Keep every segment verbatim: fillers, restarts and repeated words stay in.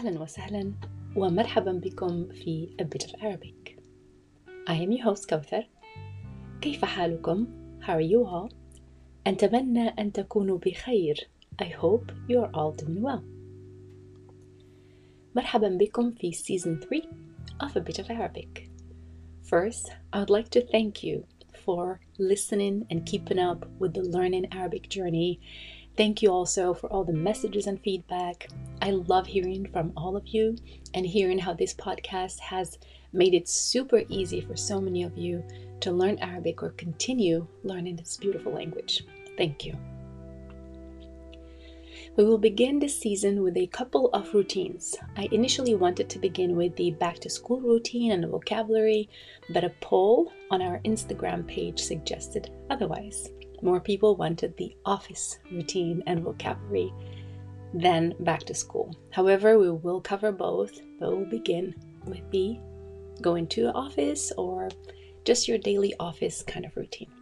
أهلا وسهلا ومرحبا بكم في A Bit of Arabic. I am your host كوثر. كيف حالكم؟ How are you all? أتمنى أن تكونوا بخير. I hope you are all doing well. مرحبا بكم في Season three of A Bit of Arabic. First, I would like to thank you for listening and keeping up with the Learning Arabic journey. Thank you also for all the messages and feedback. I love hearing from all of you and hearing how this podcast has made it super easy for so many of you to learn Arabic or continue learning this beautiful language. Thank you. We will begin this season with a couple of routines. I initially wanted to begin with the back to school routine and the vocabulary, but a poll on our Instagram page suggested otherwise. More people wanted the office routine and vocabulary than back to school. However, we will cover both, but we'll begin with the going to the office or just your daily office kind of routine.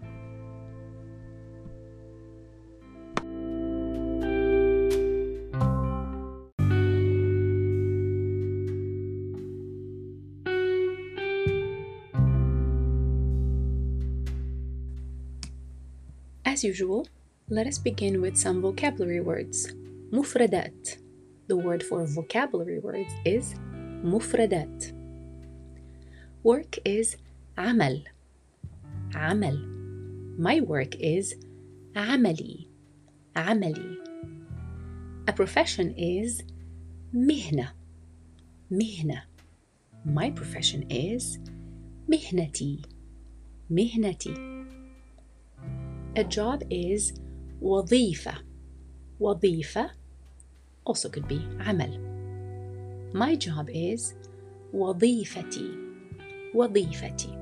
As usual, let us begin with some vocabulary words. مفردات. The word for vocabulary words is مفردات. Work is عمل. عمل. My work is عملي. عملي. A profession is مهنة. مهنة. My profession is مهنتي. مهنتي. A job is وظيفة. وظيفة also could be عمل. My job is وظيفتي. وظيفتي.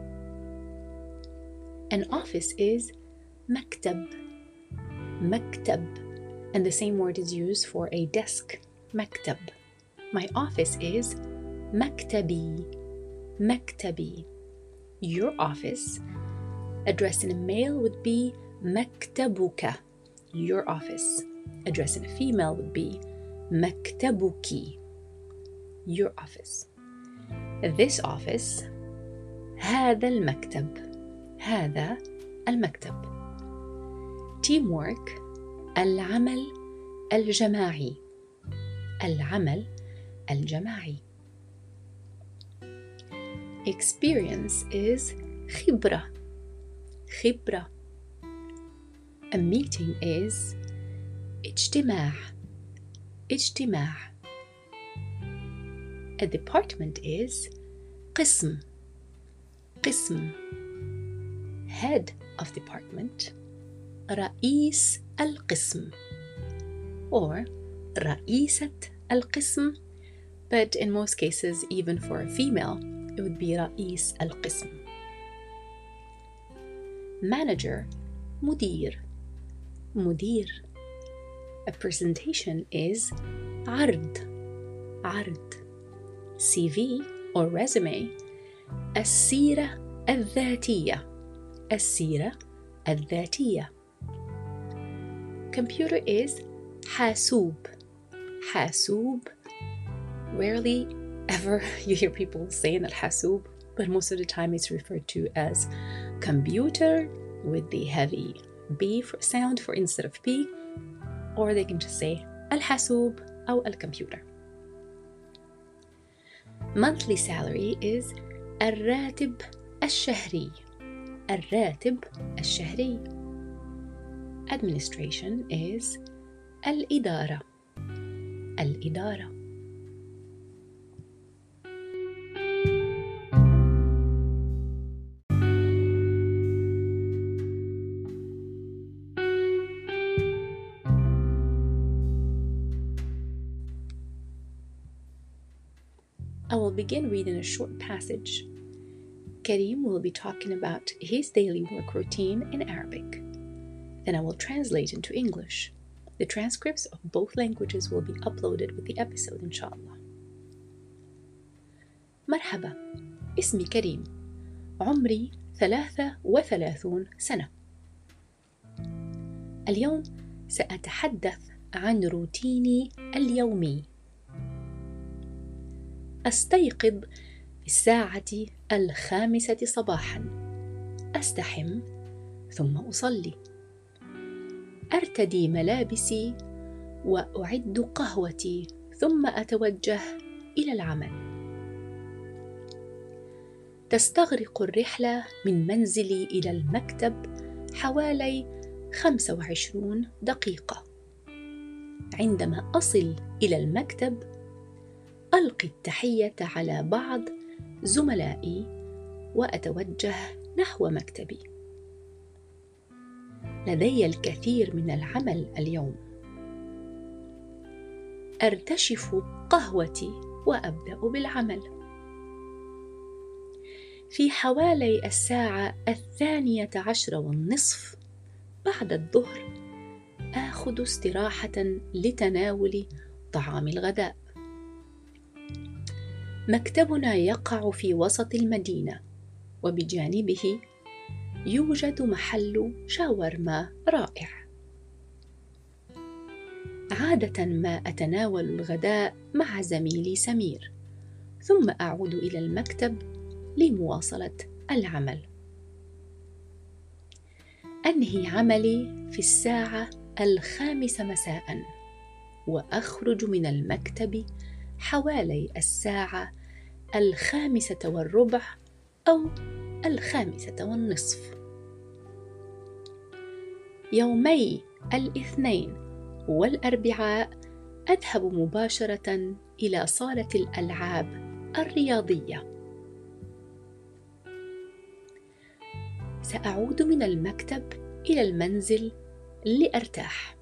An office is مكتب. مكتب. And the same word is used for a desk. مكتب. My office is مكتبي. مكتبي. Your office, addressed in a male, would be مكتبك. Your office. Addressed in a female would be مكتبك. Your office. This office. هذا المكتب. هذا المكتب. Teamwork. العمل الجماعي. العمل الجماعي. Experience is خبرة. خبرة. A meeting is اجتماع. اجتماع. A department is قسم. قسم. Head of department. رئيس القسم. Or رئيسة القسم. But in most cases, even for a female, it would be رئيس القسم. Manager. مدير. مدير. A presentation is عرض. عرض. C V or resume. السيرة الذاتية. السيرة الذاتية. Computer is حاسوب. حاسوب. Rarely ever you hear people saying that حاسوب, but most of the time it's referred to as computer with the heavy B for sound for instead of P, or they can just say الحاسوب أو الكمبيوتر. Monthly salary is الراتب الشهري. الراتب الشهري. Administration is الإدارة. الإدارة. I will begin reading a short passage. Karim will be talking about his daily work routine in Arabic. Then I will translate into English. The transcripts of both languages will be uploaded with the episode, inshallah. مرحبا. اسمي كريم. عمري ثلاثة وثلاثون سنة. اليوم سأتحدث عن روتيني اليومي. أستيقظ في الساعة الخامسة صباحاً. أستحم ثم أصلي. أرتدي ملابسي وأعد قهوتي ثم أتوجه إلى العمل. تستغرق الرحلة من منزلي إلى المكتب حوالي خمسة وعشرين دقيقة. عندما أصل إلى المكتب ألقي التحية على بعض زملائي وأتوجه نحو مكتبي. لدي الكثير من العمل اليوم. أرتشف قهوتي وأبدأ بالعمل. في حوالي الساعة الثانية عشر والنصف بعد الظهر آخذ استراحة لتناول طعام الغداء. مكتبنا يقع في وسط المدينة، وبجانبه يوجد محل شاورما رائع. عادة ما أتناول الغداء مع زميلي سمير، ثم أعود إلى المكتب لمواصلة العمل. أنهي عملي في الساعة الخامسة مساءً، وأخرج من المكتب حوالي الساعة الخامسة والربع أو الخامسة والنصف. يومي الاثنين والأربعاء أذهب مباشرة إلى صالة الألعاب الرياضية. سأعود من المكتب إلى المنزل لأرتاح.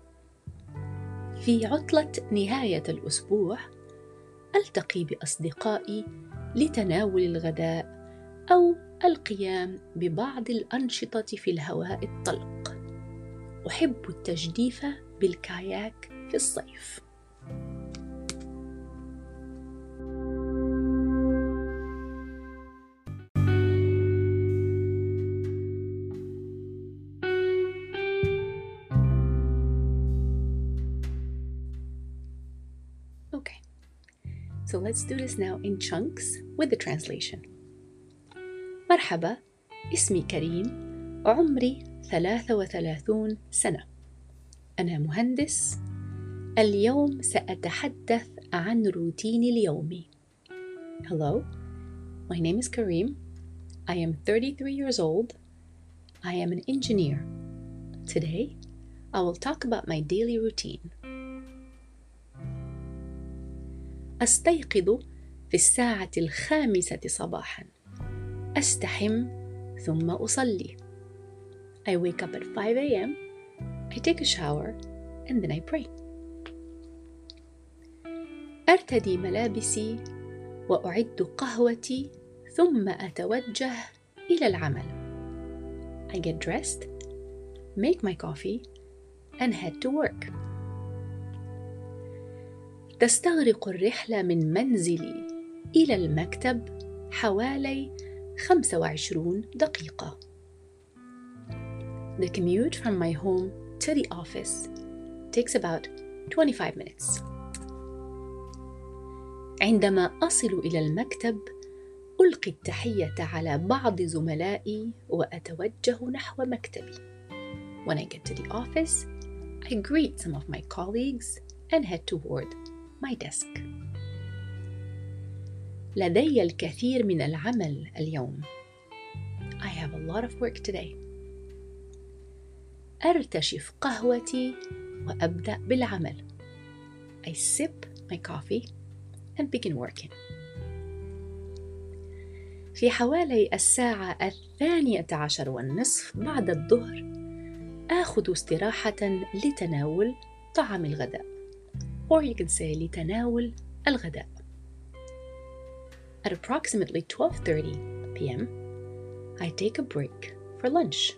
في عطلة نهاية الأسبوع ألتقي بأصدقائي لتناول الغداء أو القيام ببعض الأنشطة في الهواء الطلق. أحب التجديف بالكاياك في الصيف. Okay, so let's do this now in chunks with the translation. مرحبا، اسمي كريم، عمري ثلاثة وثلاثون سنة. أنا مهندس. اليوم سأتحدث عن روتيني اليومي. Hello, my name is Kareem. I am thirty-three years old. I am an engineer. Today, I will talk about my daily routine. أستيقظ في الساعة الخامسة صباحاً. أستحم ثم أصلي. I wake up at five a.m. I take a shower and then I pray. أرتدي ملابسي وأعد قهوتي ثم أتوجه إلى العمل. I get dressed, make my coffee and head to work. تستغرق الرحلة من منزلي إلى المكتب حوالي خمسة وعشرين دقيقة. The commute from my home to the office takes about twenty-five minutes. عندما أصل إلى المكتب ألقي التحية على بعض زملائي وأتوجه نحو مكتبي. When I get to the office, I greet some of my colleagues and head toward my desk. لدي الكثير من العمل اليوم. I have a lot of work today. أرتشف قهوتي وأبدأ بالعمل. I sip my coffee and begin working. في حوالي الساعة الثانية عشر والنصف بعد الظهر آخذ استراحة لتناول طعام الغداء. Or you can say لتناول الغداء. At approximately twelve thirty p.m. I take a break for lunch.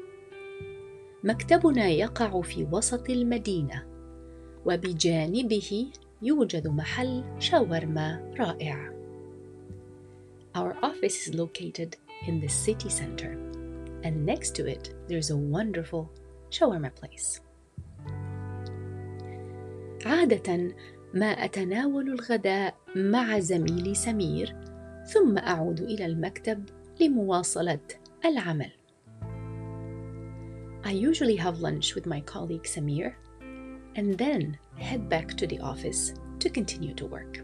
مكتبنا يقع في وسط المدينة، وبجانبه يوجد محل شاورما رائع. Our office is located in the city center, and next to it there's a wonderful shawarma place. عادة ما أتناول الغداء مع زميلي سمير ثم أعود إلى المكتب لمواصلة العمل. I usually have lunch with my colleague Samir and then head back to the office to continue to work.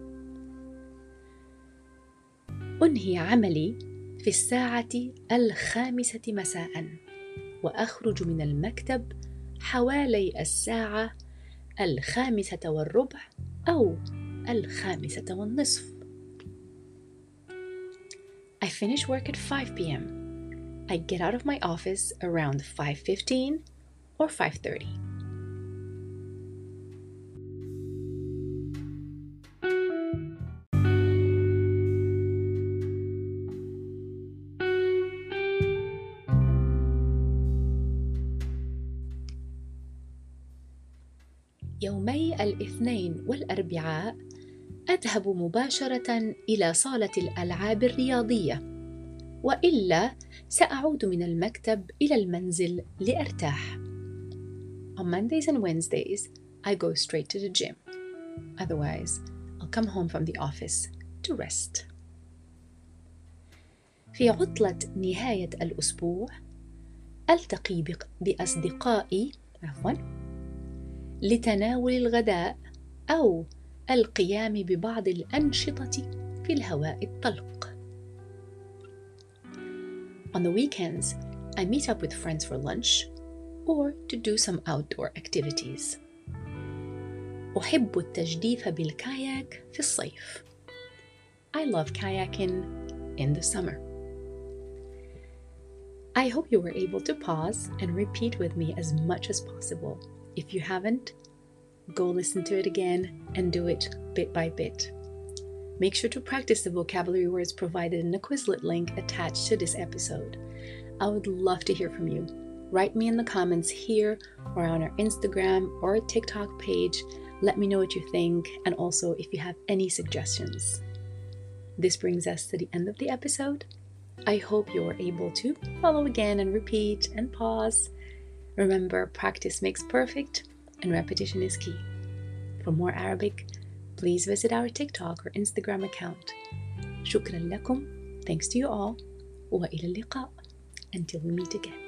أنهي عملي في الساعة الخامسة مساءً وأخرج من المكتب حوالي الساعة الخامسة والربع أو الخامسة والنصف. I finish work at five p.m. I get out of my office around five fifteen or five thirty. يومي الاثنين والأربعاء أذهب مباشرة إلى صالة الألعاب الرياضية، وإلا سأعود من المكتب إلى المنزل لأرتاح. On Mondays and Wednesdays, I go straight to the gym. Otherwise, I'll come home from the office to rest. في عطلة نهاية الأسبوع ألتقي بأصدقائي عفواً لتناول الغداء أو القيام ببعض الأنشطة في الهواء الطلق. On the weekends, I meet up with friends for lunch or to do some outdoor activities. أحب التجديف بالكاياك في الصيف. I love kayaking in the summer. I hope you were able to pause and repeat with me as much as possible. If you haven't, go listen to it again and do it bit by bit. Make sure to practice the vocabulary words provided in the Quizlet link attached to this episode. I would love to hear from you. Write me in the comments here or on our Instagram or TikTok page. Let me know what you think, and also if you have any suggestions. This brings us to the end of the episode. I hope you were able to follow again and repeat and pause. Remember, practice makes perfect and repetition is key. For more Arabic, please visit our TikTok or Instagram account. شكرا لكم. Thanks to you all. وإلى اللقاء. Until we meet again.